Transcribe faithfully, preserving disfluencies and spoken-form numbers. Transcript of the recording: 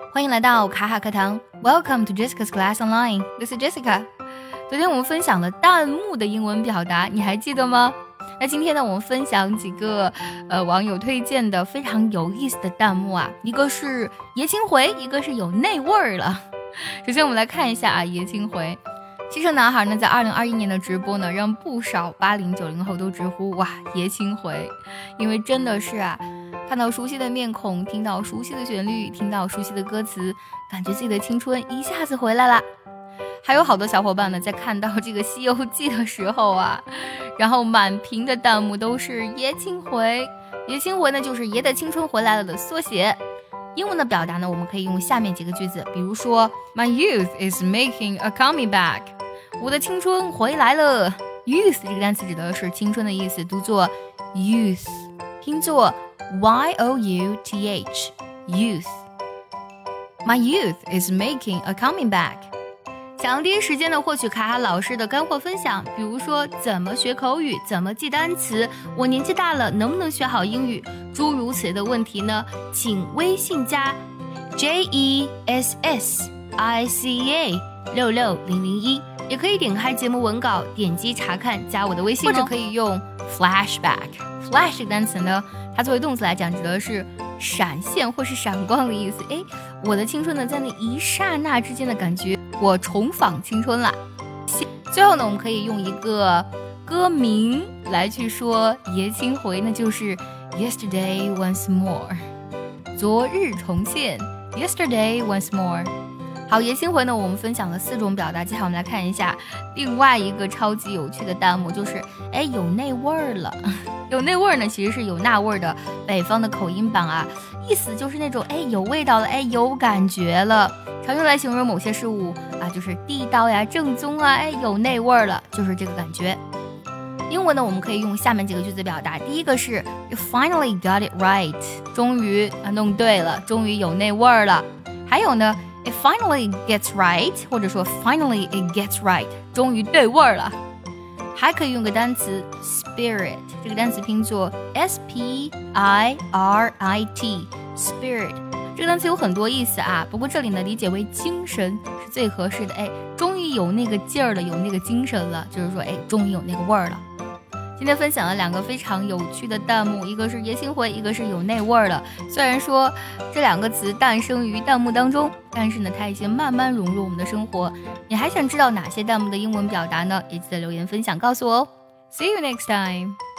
欢迎来到卡卡课堂 Welcome to Jessica's Class Online. This is Jessica. 昨天我们分享了弹幕的英文表达，你还记得吗？那今天呢，我们分享几个呃网友推荐的非常有意思的弹幕啊，一个是爷青回，一个是有内味儿了。首先我们来看一下啊，爷青回。汽车男孩呢，在二零二一年的直播呢，让不少八零九零后都直呼哇爷青回，因为真的是啊，看到熟悉的面孔，听到熟悉的旋律，听到熟悉的歌词，感觉自己的青春一下子回来了。还有好多小伙伴呢，在看到这个《西游记》的时候啊，然后满屏的弹幕都是爷青回。爷青回呢，就是爷的青春回来了的缩写。英文的表达呢，我们可以用下面几个句子，比如说 My youth is making a coming back， 我的青春回来了。 Youth 这个单词指的是青春的意思，读作 youth， 拼作 Y O U T H youth。 My youth is making a coming back。 想要第一时间的获取卡卡老师的干货分享，比如说怎么学口语，怎么记单词，我年纪大了能不能学好英语，诸如此类的问题呢，请微信加 J E S S I C A 六六零零一，也可以点开节目文稿点击查看，加我的微信、哦、或者可以用 flashback。 flash 这个单词呢，它作为动词来讲指的是闪现或是闪光的意思。诶，我的青春呢，在那一刹那之间的感觉，我重返青春了。最后呢，我们可以用一个歌名来去说爷青回，那就是 Yesterday once more， 昨日重现 Yesterday once more。 好，爷青回呢，我们分享了四种表达，接下来我们来看一下另外一个超级有趣的弹幕，就是哎有那味儿了。有那味儿呢，其实是有那味儿的北方的口音版啊，意思就是那种哎有味道了，哎有感觉了，常用来形容某些事物啊，就是地道呀、正宗啊，哎有那味儿了，就是这个感觉。英文呢，我们可以用下面几个句子表达，第一个是 You finally got it right， 终于啊弄对了，终于有那味儿了。还有呢 It finally gets right， 或者说 Finally it gets right， 终于对味儿了。还可以用个单词 spirit， 这个单词拼作 S P I R I T spirit， 这个单词有很多意思啊，不过这里呢理解为精神是最合适的。哎，终于有那个劲儿了，有那个精神了，就是说哎，终于有那个味儿了。今天分享了两个非常有趣的弹幕，一个是爷青回，一个是有那味儿了。虽然说这两个词诞生于弹幕当中，但是呢它已经慢慢融入我们的生活。你还想知道哪些弹幕的英文表达呢？也记得留言分享告诉我哦。See you next time.